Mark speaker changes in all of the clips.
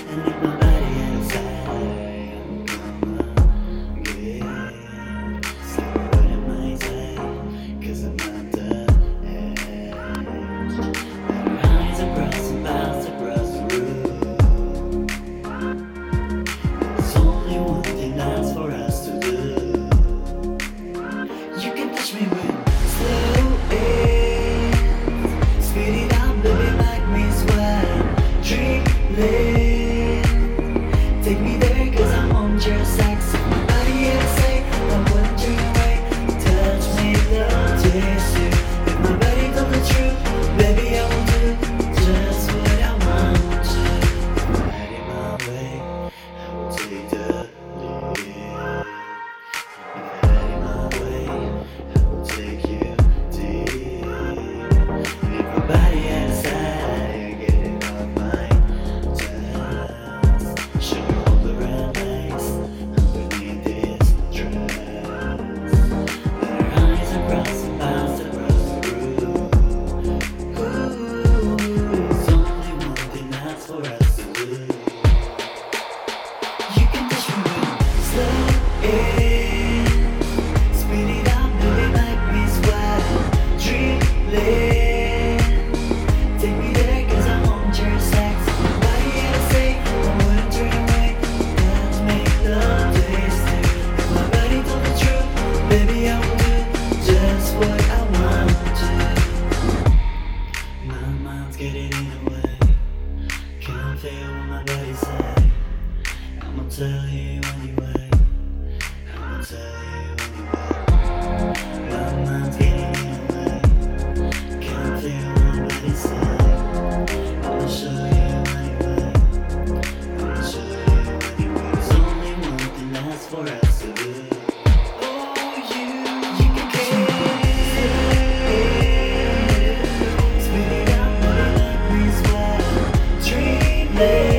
Speaker 1: and leave my body inside. I'm gonna get stuck what it might say, 'cause I'm not the edge. Our eyes are crossing paths across the room. There's only one thing that's for us to do. You can touch me with slow hands, speed it up, baby, make me sweat. Dreaming, take me there 'cause I want your sex. My body is safe, I want you away. Touch me, love, taste you. If my body told the truth, baby, I will do just what I want to. Right in my way, I will take the lead. Right in my way, I will take you deep. Leave my body aside, get it off my chest. Show me all the red lights underneath this dress. Let our eyes across the paths across the room. Ooh, there's only one thing that's for us to do. You can touch me with slow hands, speed it up, baby, make me sweat. Dreaming, take me there 'cause I want your sex. My body is safe, I wouldn't turn away. Let's make love taste it. If my body told the truth, baby, I will do just what I want to. My mind's getting in the way, can't feel what my body say. I'ma tell you anyway, I'ma tell you anyway. My mind's getting in the way, can't feel what my body say. I'ma show you anyway, I'ma show you anyway. There's only one thing that's for us to do. Oh, you can speed it up, baby, let me sweat. Dreaming.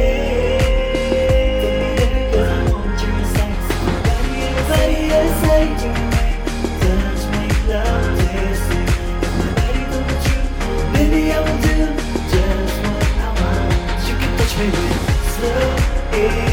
Speaker 1: Baby, I will do just what I want. You can touch me with slow.